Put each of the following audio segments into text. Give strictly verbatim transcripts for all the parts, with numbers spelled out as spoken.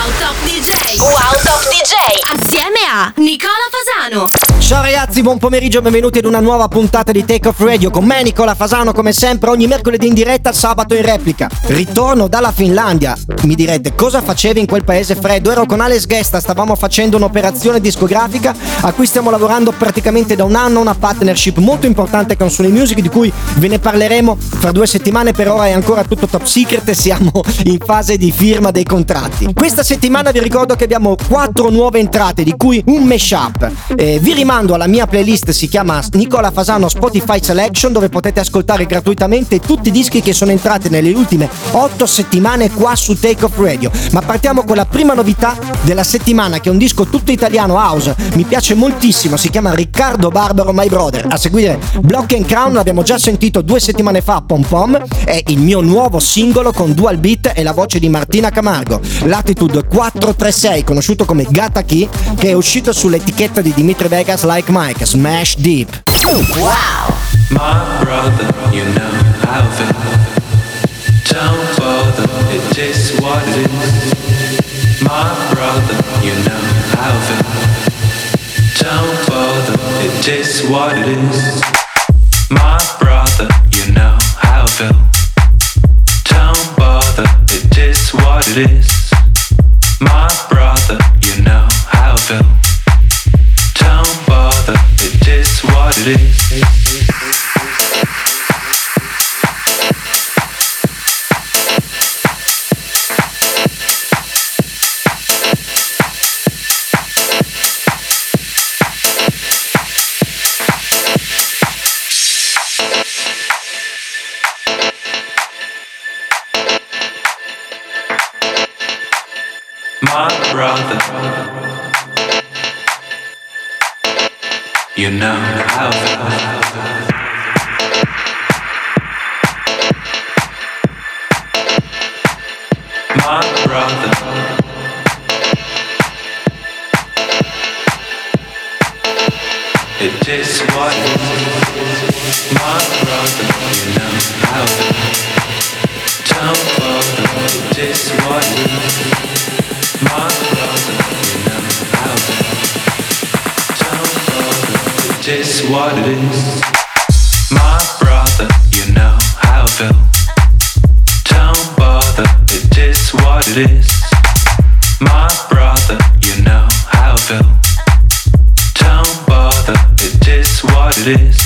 Top D J. Wow Top D J. Assieme a Nicola Fasano. Ciao ragazzi, buon pomeriggio, benvenuti ad una nuova puntata di Take Off Radio con me Nicola Fasano, come sempre ogni mercoledì in diretta, sabato in replica. Ritorno dalla Finlandia. Mi direte, cosa facevi in quel paese freddo? Ero con Alex Gesta, stavamo facendo un'operazione discografica a cui stiamo lavorando praticamente da un anno, una partnership molto importante con Sony Music, di cui ve ne parleremo fra due settimane. Per ora è ancora tutto top secret e siamo in fase di firma dei contratti. Questa settimana vi ricordo che abbiamo quattro nuove entrate, di cui un mashup. Eh, vi rimando alla mia playlist, si chiama Nicola Fasano Spotify Selection, dove potete ascoltare gratuitamente tutti i dischi che sono entrati nelle ultime otto settimane qua su Take Off Radio. Ma partiamo con la prima novità della settimana, che è un disco tutto italiano house, mi piace moltissimo, si chiama Riccardo Barbaro My Brother. A seguire Block and Crown, l'abbiamo già sentito due settimane fa, Pom Pom, è il mio nuovo singolo con dual beat e la voce di Martina Camargo. Latitude quattro tre sei, conosciuto come Gata Key, che è uscito sull'etichetta di Dimitri Vegas Like Mike, Smash Deep. Wow! My brother, you know how I feel. Don't bother, it is what it is. My brother, you know how I feel. Don't bother, it is what it is. My brother, you know how I feel. Don't bother, it is what it is. My brother, you know how I feel. Don't bother, it is what it is. My brother, you know how I feel. My brother, it is what it is. My brother, you know how I feel. Don't bother, it is what it is. My brother, you know how I feel. Don't bother, it is what it is. My brother, you know how I feel. Don't bother, it is what it is. My brother, you know how I feel. Don't bother, it is what it is.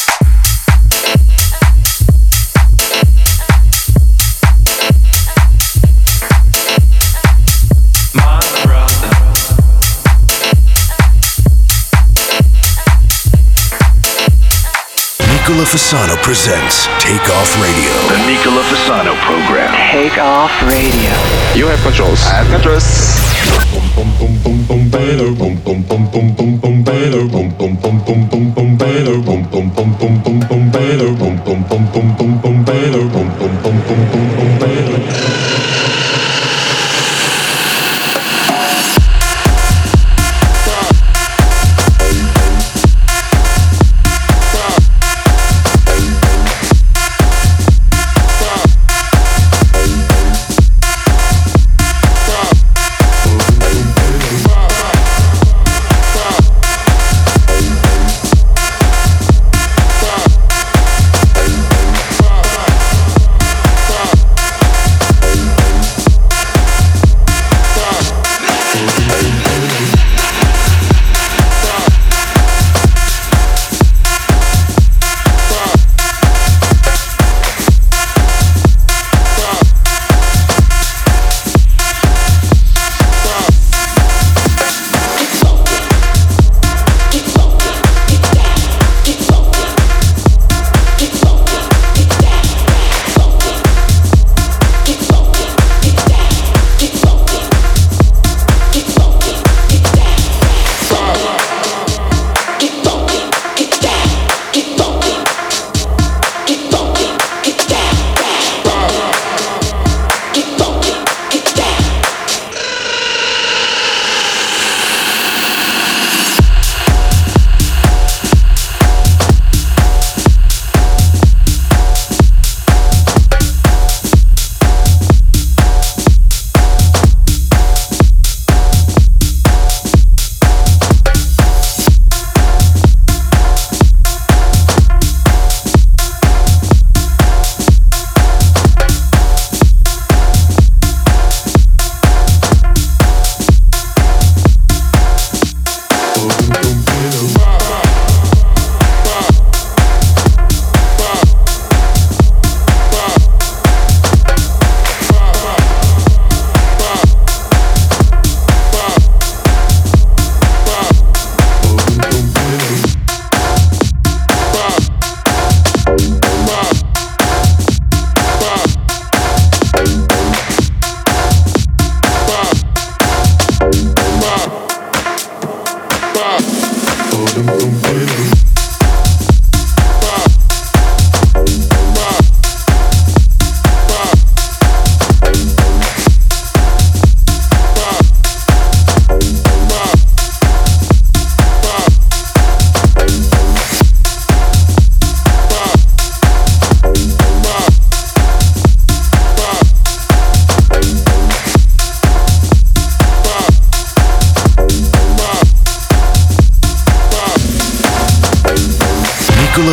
Nicola Fasano presents Take Off Radio. The Nicola Fasano program. Take Off Radio. You have controls. I have controls.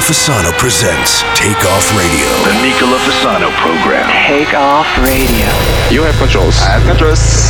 Fasano presents Take Off Radio. The Nicola Fasano program. Take Off Radio. You have controls. I have controls.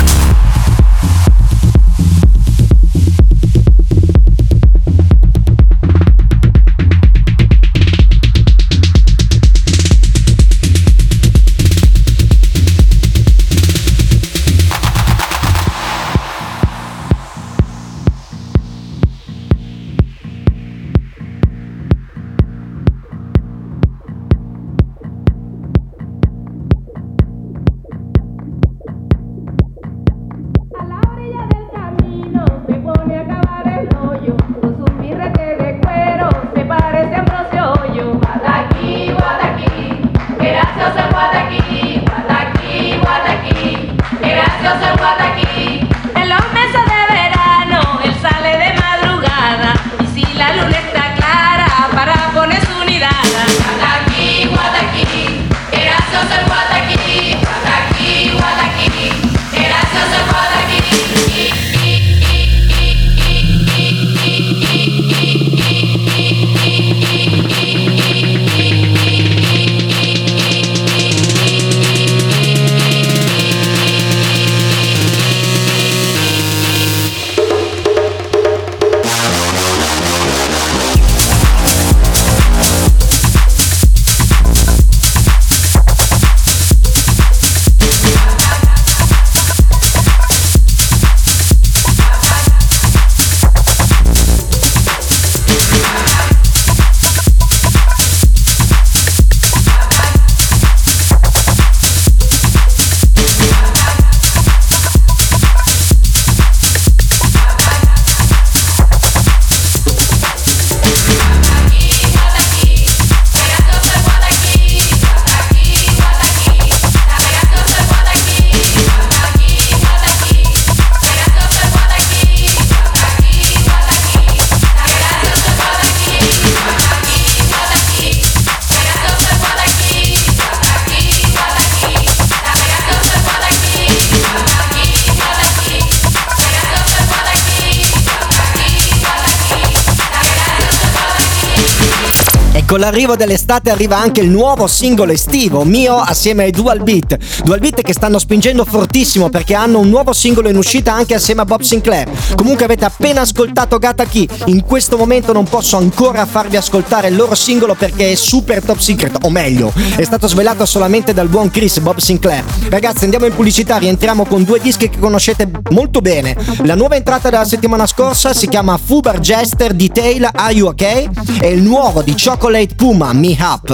Con l'arrivo dell'estate arriva anche il nuovo singolo estivo, Mio, assieme ai Dual Beat. Dual Beat che stanno spingendo fortissimo perché hanno un nuovo singolo in uscita anche assieme a Bob Sinclair. Comunque avete appena ascoltato Gata Key. In questo momento non posso ancora farvi ascoltare il loro singolo perché è super top secret, o meglio, è stato svelato solamente dal buon Chris, Bob Sinclair. Ragazzi, andiamo in pubblicità, rientriamo con due dischi che conoscete molto bene. La nuova entrata della settimana scorsa si chiama Fubar Jester Detail Are You Ok? E il nuovo di Chocolate Puma, Me Up.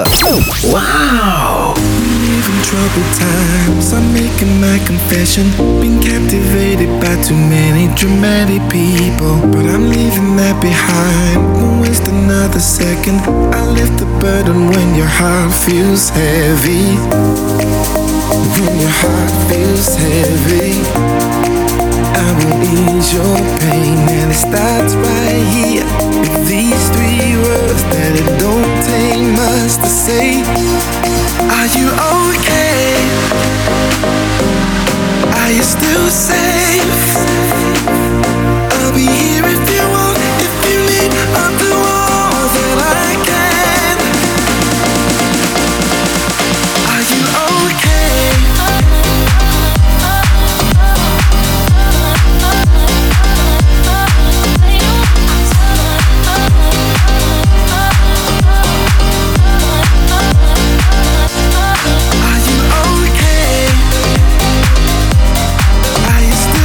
Wow! In troubled times, I'm making my confession. Been captivated by too many dramatic people, but I'm leaving that behind. Won't waste another second. I lift the burden when your heart feels heavy. When your heart feels heavy, I will ease your pain, and it starts right here with these three words that it don't take much to say. Are you okay? Are you still safe? I'll be here if you want, if you need, I'll do all that I can. Are you okay? Are you okay? Are you still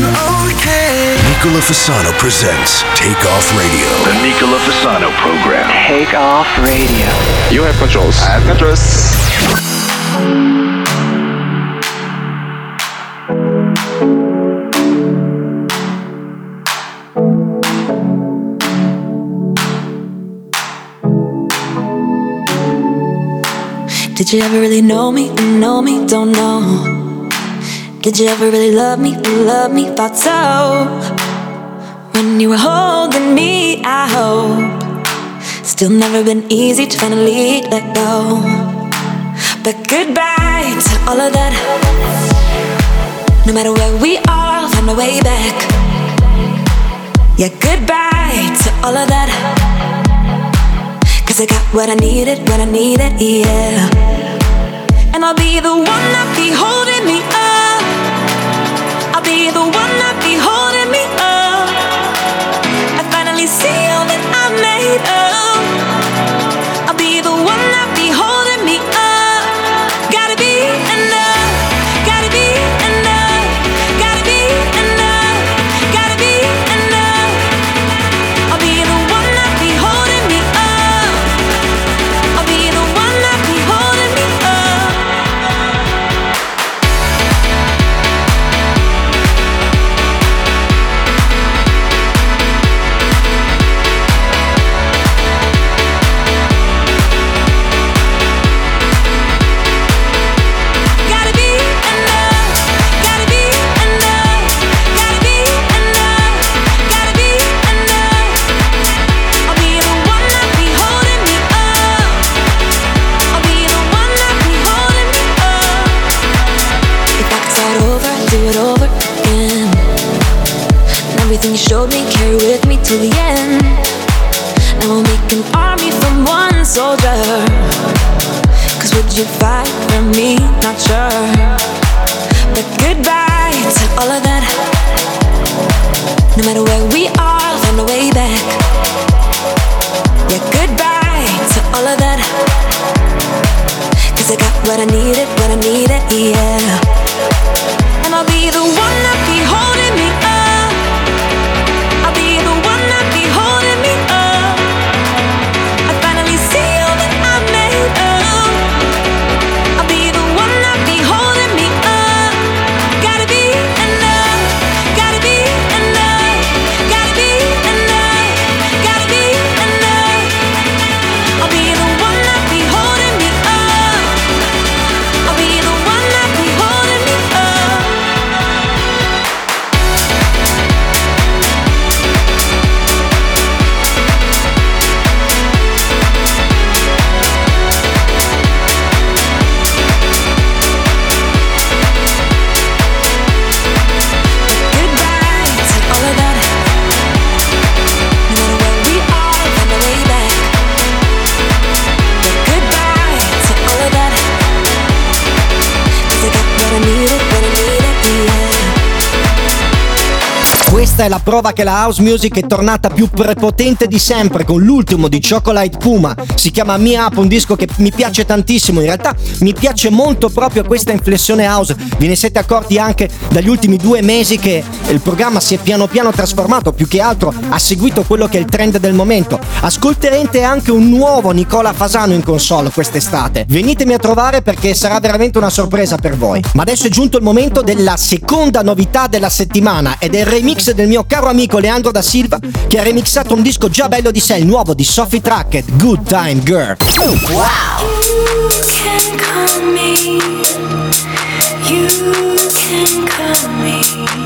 okay? Nicola Fasano presents Take Off Radio. The Nicola Fasano program. Take Off Radio. You have controls. I have controls. Did you ever really know me? Know me? Don't know. Did you ever really love me? Love me? Thought so. When you were holding me, I hope. Still never been easy to finally let go. But goodbye to all of that. No matter where we are, I'll find my way back. Yeah, goodbye to all of that. Cause I got what I needed, what I needed, yeah. And I'll be the one that be holding me up. I'll be the one that be holding me up. I finally see all that I'm made of. I'll be the one that be holding me up. Gotta be enough, gotta be enough, gotta be enough, gotta be enough. I'll be the one that be holding me up. I'll be the one that be holding me up. Gotta be enough, gotta be enough, gotta be enough, gotta be enough. I'll be the one that be holding me up. I'll be the one that be holding me up. If I could start over, do it over again. And everything you showed me, carry with me till the end. Now we'll make an army from one soldier. Cause would you fight for me? Not sure. But goodbye to all of that. No matter where we are, I'll find a way back. Yeah, goodbye to all of that. Cause I got what I needed, what I needed, yeah. And I'll be the one that be holding me up. I'll be the one that be holding me up. I finally see all that I'm made of. I'll be the one that be holding me up. Gotta be enough, gotta be enough, gotta be enough, gotta be enough. I'll be the one that be holding me up. I'll be the one that be holding me up. Goodbye to all of that. No matter where we are, I'll find a way back. Yeah, goodbye to all of that. Cause I got what I needed, what I needed, yeah. Questa è la prova che la house music è tornata più prepotente di sempre con l'ultimo di Chocolate Puma. Si chiama Me Up, un disco che mi piace tantissimo. In realtà mi piace molto proprio questa inflessione house. Ve ne siete accorti anche dagli ultimi due mesi che il programma si è piano piano trasformato, più che altro ha seguito quello che è il trend del momento. Ascolterete anche un nuovo Nicola Fasano in console quest'estate. Venitemi a trovare perché sarà veramente una sorpresa per voi. Ma adesso è giunto il momento della seconda novità della settimana ed è il remix del mio caro amico Leandro da Silva, che ha remixato un disco già bello di sé, il nuovo di Sophie Trackett, Good Time Girl. You can call me. You can call me.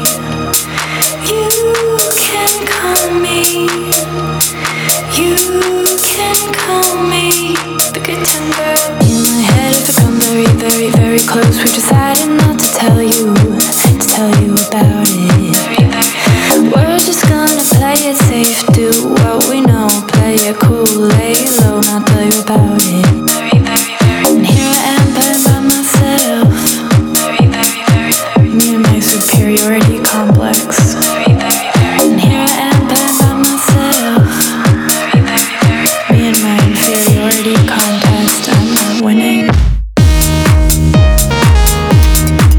You can call me. You can call me the good time girl. In my head, if I come very, very, very close, we've decided not to tell you, to tell you about it. We're just gonna play it safe, do what we know, play it cool, lay low, not tell you about it. And here I am by, by myself, me and my superiority complex. And here I am by, by myself, me and my inferiority contest, I'm not winning.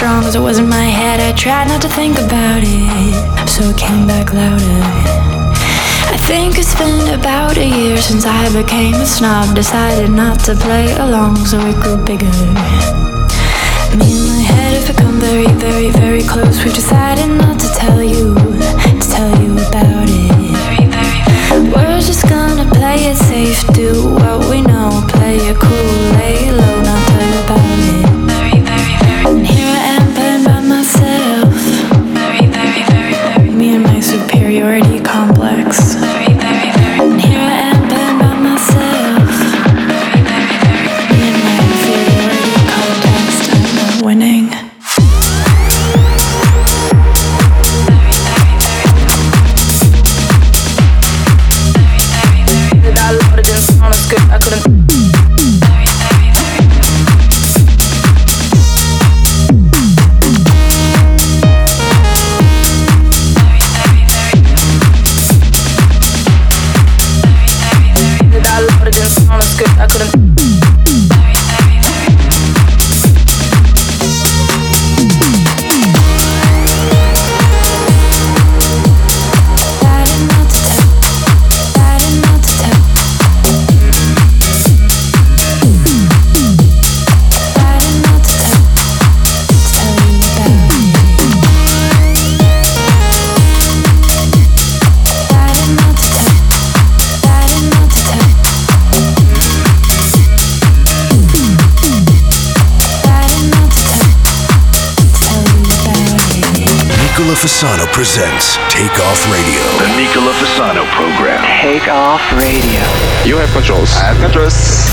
strong as it was in my head. I tried not to think about it, so it came back louder. I think it's been about a year since I became a snob. Decided not to play along, so it grew bigger. Me and my head have become very, very, very close. We've decided not to tell you, to tell you about it. We're just gonna play it safe, do what we know, play it cool, lay low, not tell you about it. And here I am playing by myself, me and my superiority complex. And here I am playing by myself, me and my inferiority complex. I'm not winning. I couldn't. I couldn't. Fasano presents Take Off Radio. The Nicola Fasano program. Take Off Radio. You have controls. I have controls.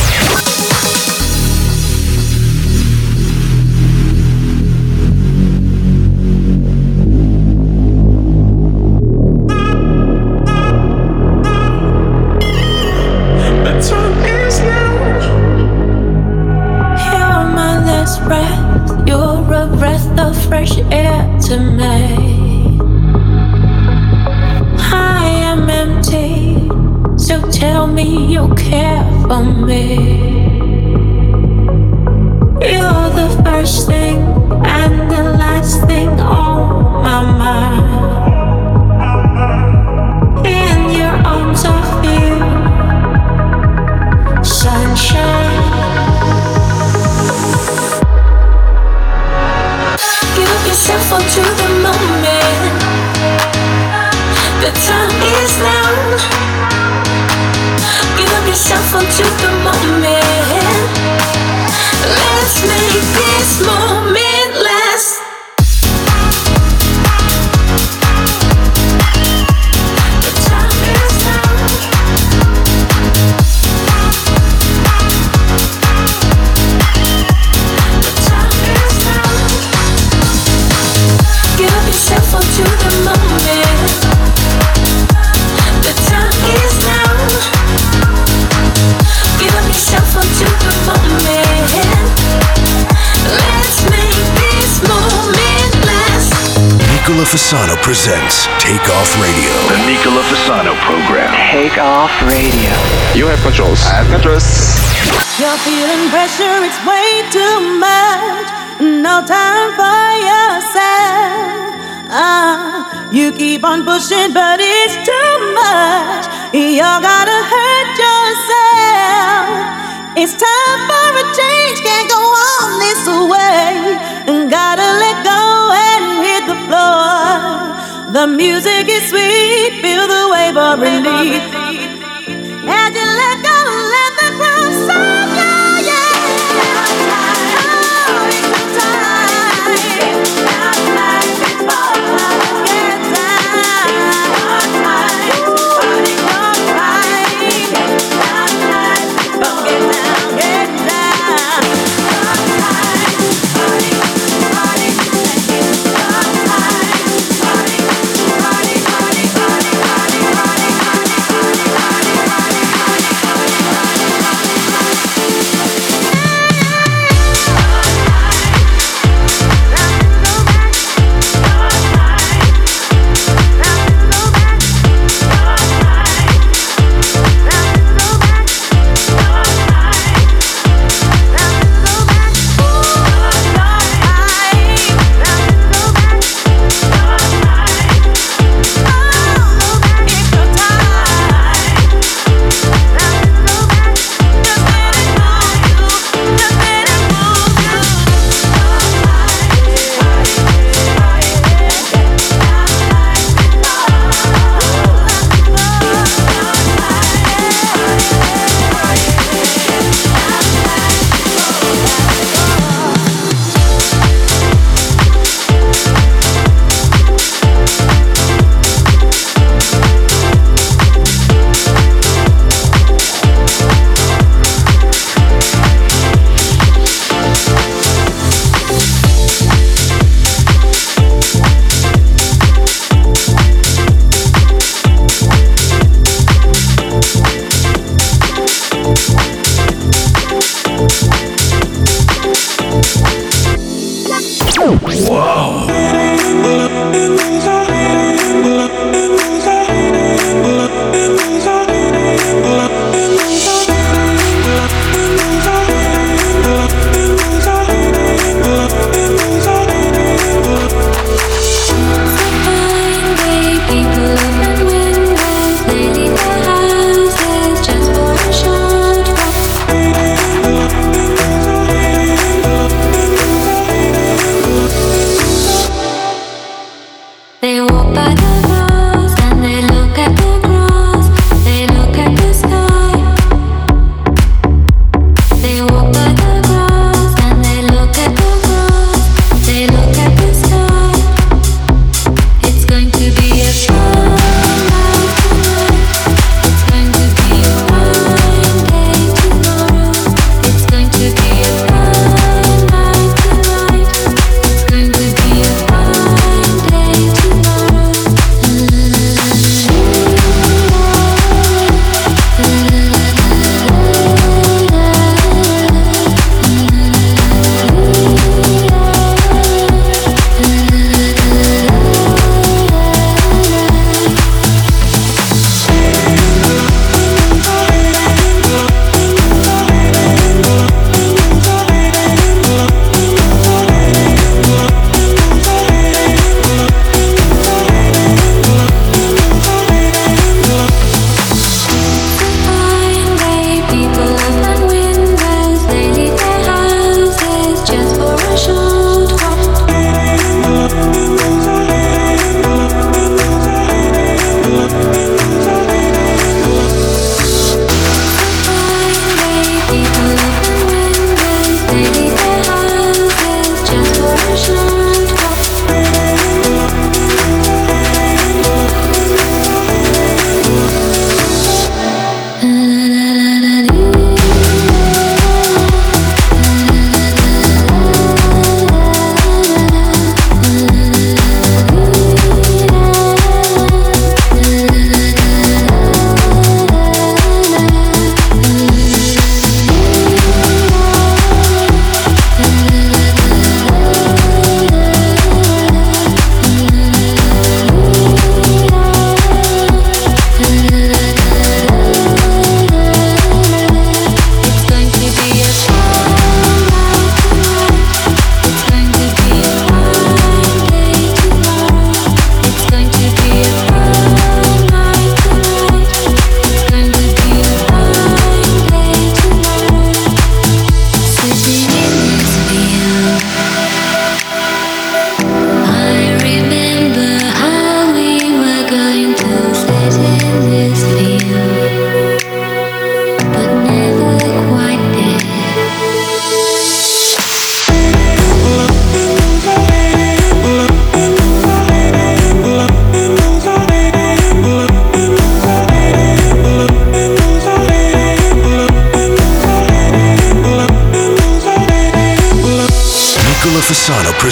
Fasano presents Take Off Radio. The Nicola Fasano program. Take Off Radio. You have controls. I have controls. You're feeling pressure, it's way too much. No time for yourself. Uh, you keep on pushing, but it's too much. You gotta hurt yourself. It's time for a change, can't go on this way. Gotta let go and hit the floor. The music is sweet, feel the wave of relief. As you let go, let the groove sound, yeah, yeah. Oh, it's the time. Not like before. Get down. Party on right. Not like before. Get down, get down. Party, party, party, party.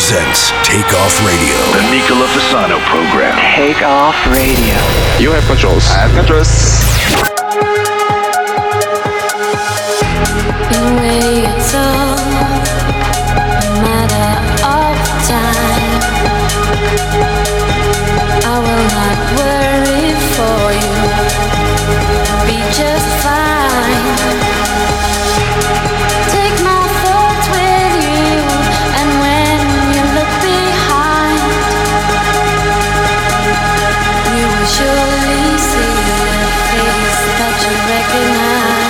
presents Take Off Radio. The Nicola Fasano program. Take Off Radio. You have controls. I have controls. In way it's all a matter of time. I will not worry for you. Be just fine. Take my thoughts with you, and when you look behind, you will surely see a face that you recognize.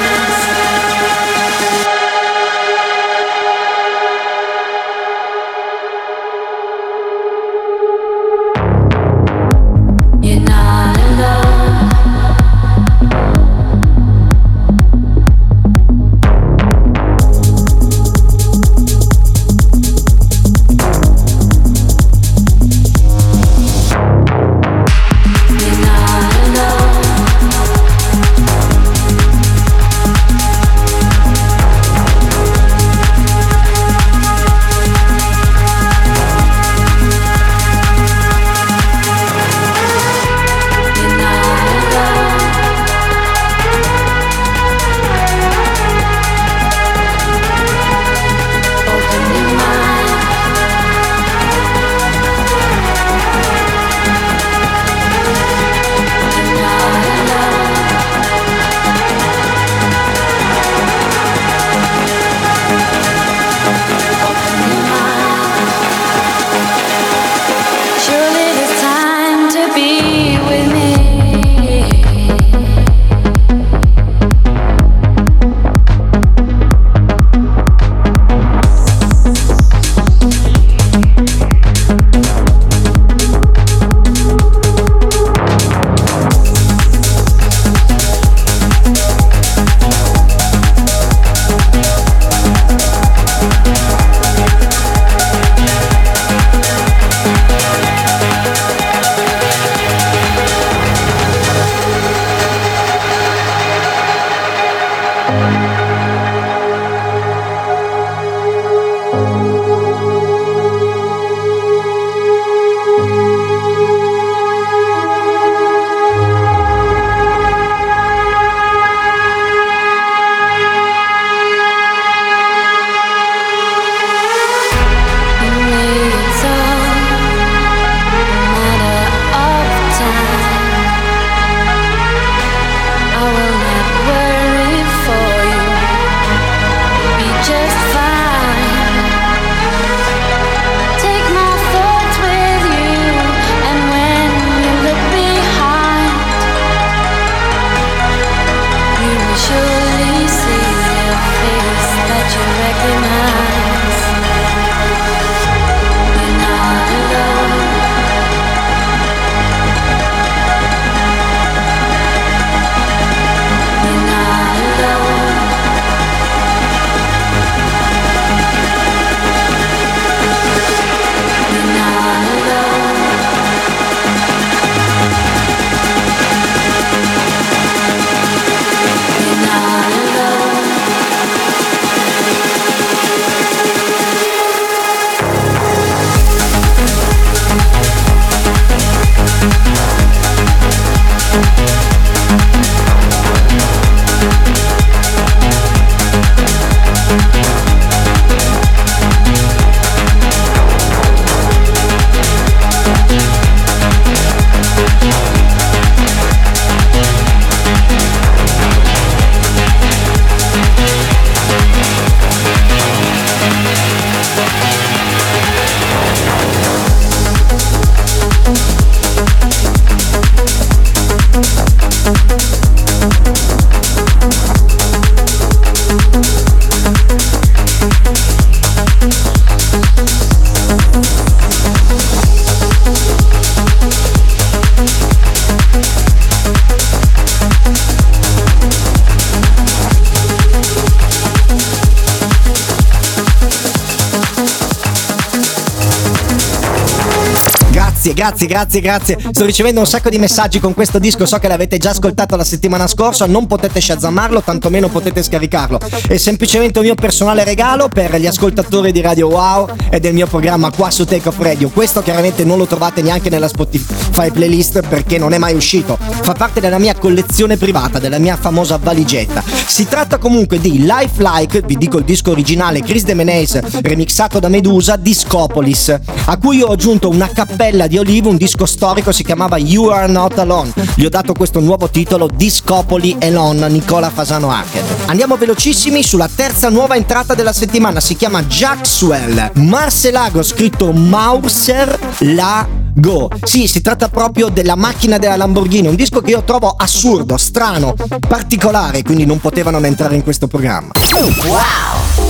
Grazie, grazie, grazie, grazie. Sto ricevendo un sacco di messaggi con questo disco. So che l'avete già ascoltato la settimana scorsa. Non potete shazzamarlo, tantomeno potete scaricarlo. È semplicemente un mio personale regalo per gli ascoltatori di Radio Wow e del mio programma qua su Take Off Radio. Questo chiaramente non lo trovate neanche nella Spotify playlist perché non è mai uscito. Fa parte della mia collezione privata, della mia famosa valigetta. Si tratta comunque di Lifelike, vi dico il disco originale, Chris De Meneis remixato da Medusa, Discopolis, a cui io ho aggiunto una cappella di Olive, un disco storico, si chiamava You Are Not Alone. Gli ho dato questo nuovo titolo, Discopoli Elon, Nicola Fasano Hackett. Andiamo velocissimi sulla terza nuova entrata della settimana, si chiama Jaxwell, Marcelago, scritto Mauser Lago. Sì, si tratta proprio della macchina della Lamborghini, un disco che io trovo assurdo, strano, particolare, quindi non poteva non entrare in questo programma. Wow!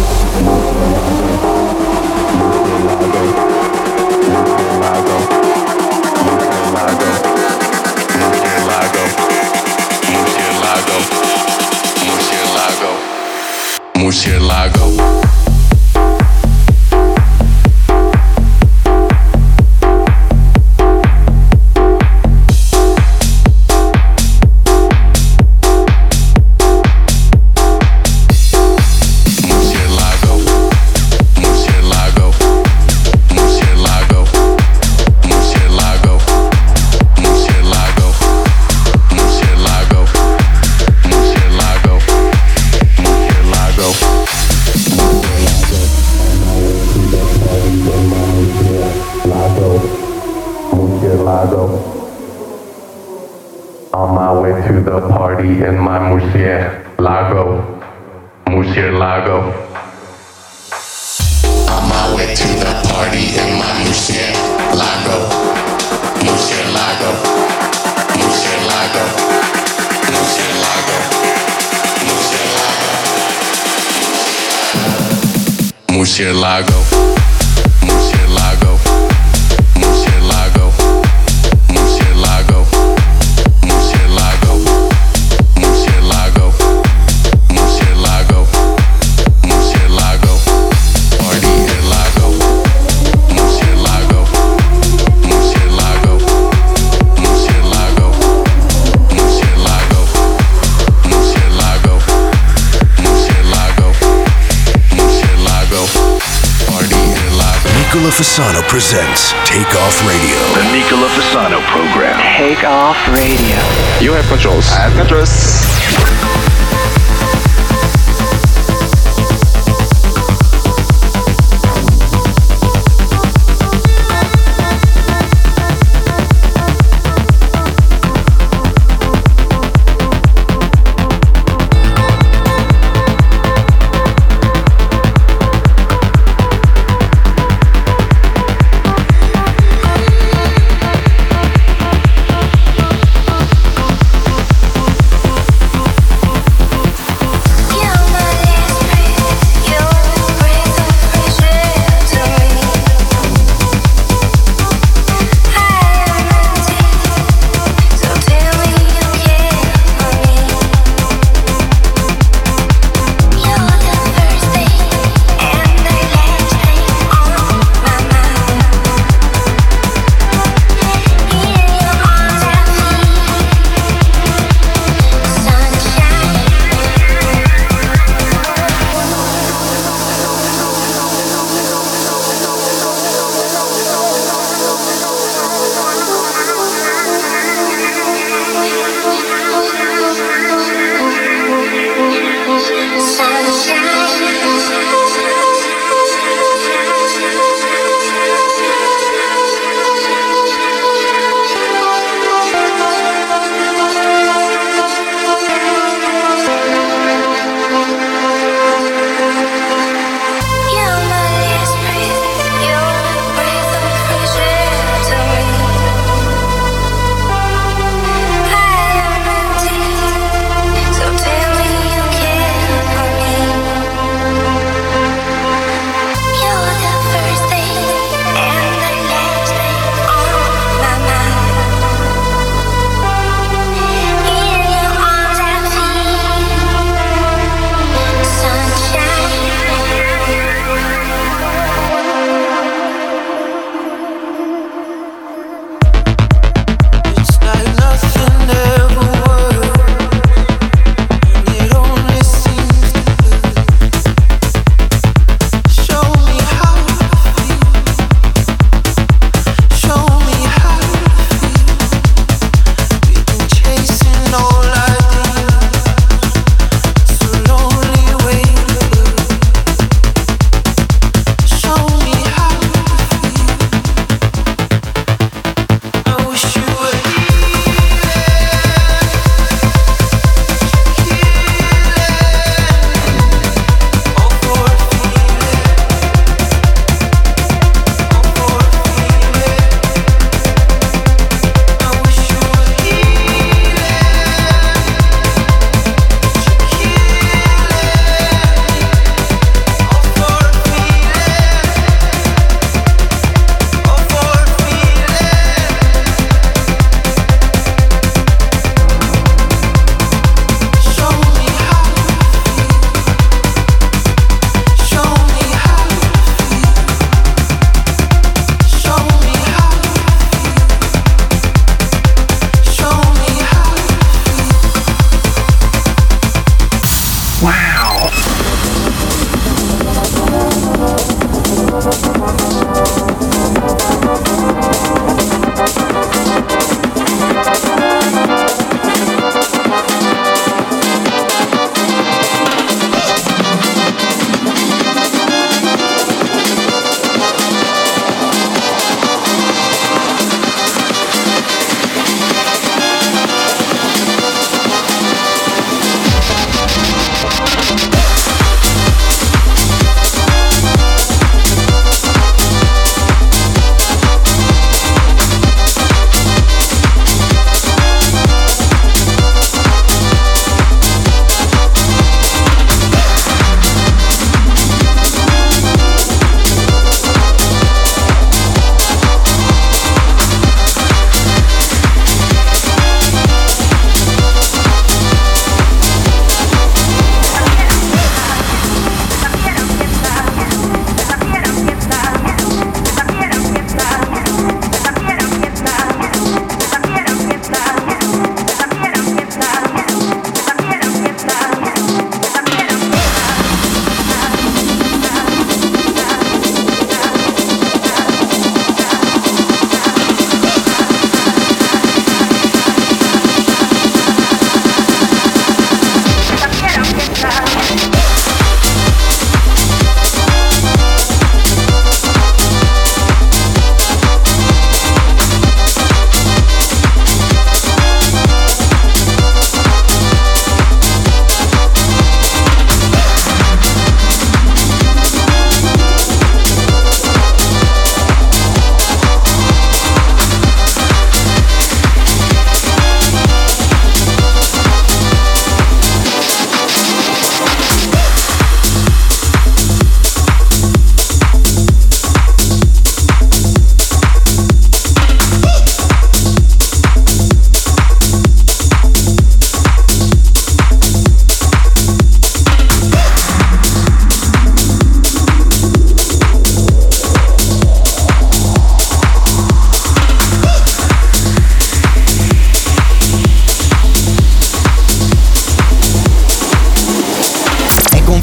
Murcielago. On my way to the party in my Murcielago, Murcielago. On my way to the party in my Murcielago, Murcielago, Murcielago, Murcielago, Murcielago, Murcielago. Nicola Fasano presents Take Off Radio. The Nicola Fasano program. Take Off Radio. You have controls. I have controls.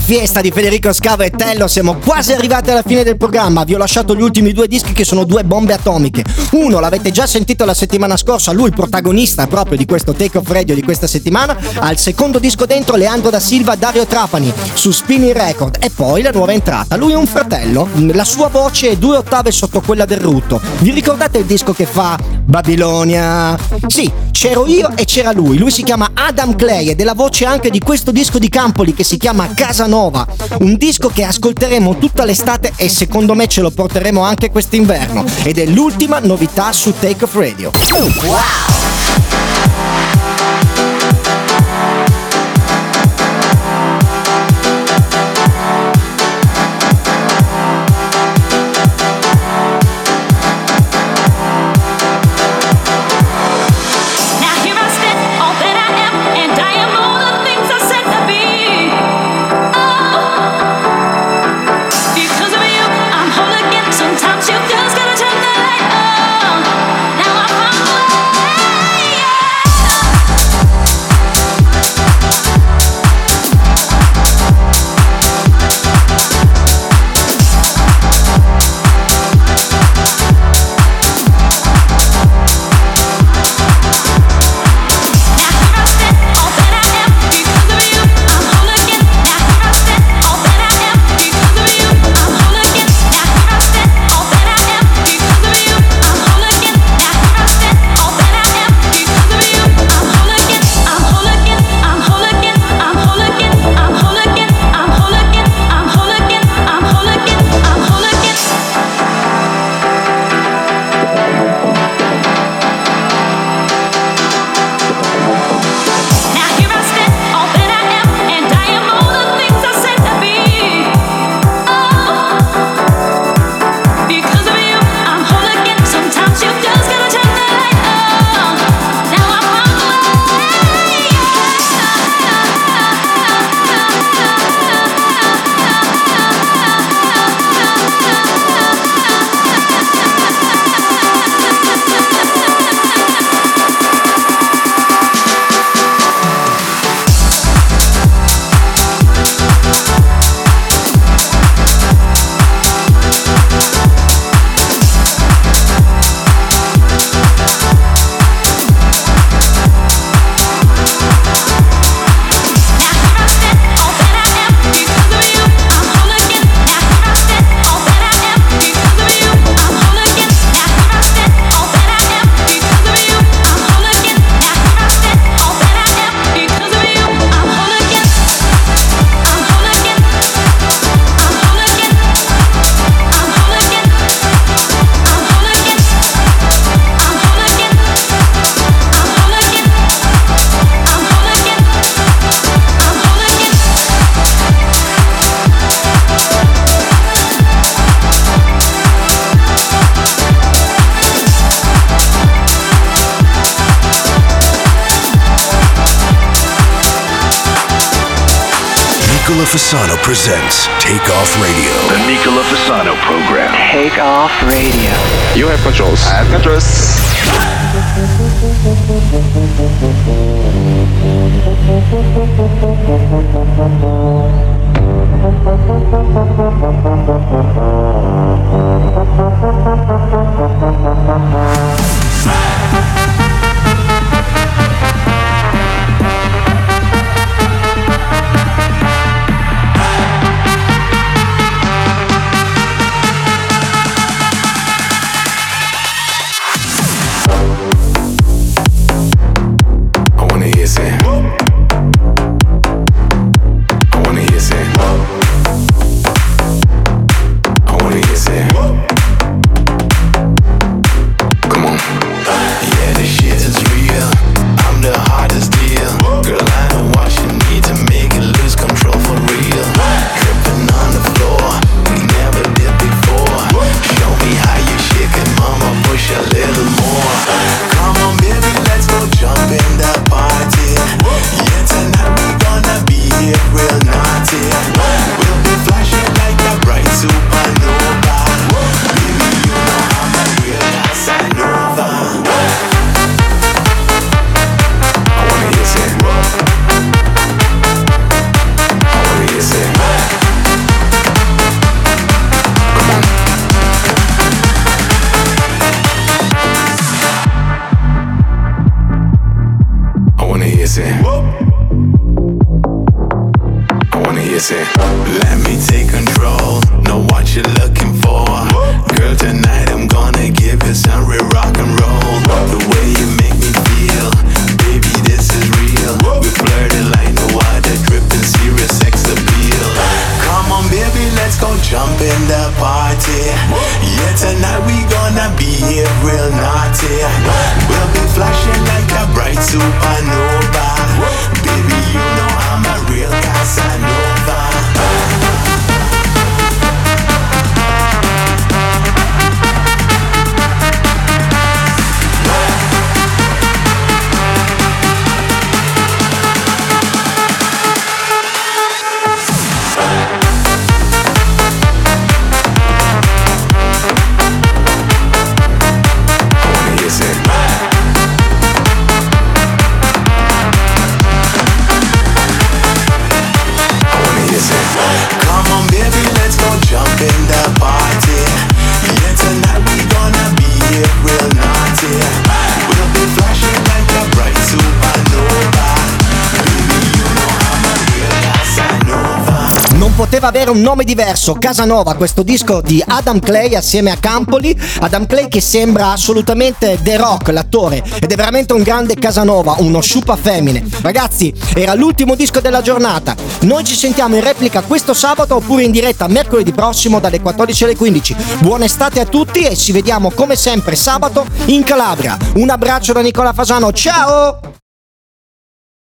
fiesta di Federico Scavo e Tello, siamo quasi arrivati alla fine del programma. Vi ho lasciato gli ultimi due dischi che sono due bombe atomiche. Uno l'avete già sentito la settimana scorsa, lui il protagonista proprio di questo Take Off Radio di questa settimana. Al secondo disco dentro Leandro da Silva, Dario Trapani su Spinning Record. E poi la nuova entrata, lui è un fratello, la sua voce è due ottave sotto quella del Rutto. Vi ricordate il disco che fa Babilonia? Sì, c'ero io e c'era lui. Lui si chiama Adam Clay ed è la voce anche di questo disco di Campoli che si chiama Casanova, un disco che ascolteremo tutta l'estate e secondo me ce lo porteremo anche quest'inverno, ed è l'ultima novità su Take Off Radio. Wow! Nicola Fasano presents Take Off Radio. The Nicola Fasano program. Take Off Radio. You have controls. I have controls. say, I wanna hear say, let me take control, know what you're looking for. Girl, tonight I'm gonna give you some real rock and roll. The way you make me feel, baby, this is real. We flirting like no other, dripping serious sex appeal. Come on, baby, let's go jump in the party. Yeah, tonight we gonna be here real naughty. We'll be flashing like a bright supernova. Baby, you know I'm a real Casanova. Poteva avere un nome diverso, Casanova, questo disco di Adam Clay assieme a Campoli. Adam Clay che sembra assolutamente The Rock, l'attore, ed è veramente un grande Casanova, uno sciupa femmine. Ragazzi, era l'ultimo disco della giornata. Noi ci sentiamo in replica questo sabato oppure in diretta mercoledì prossimo dalle quattordici alle quindici. Buona estate a tutti e ci vediamo come sempre sabato in Calabria. Un abbraccio da Nicola Fasano, ciao!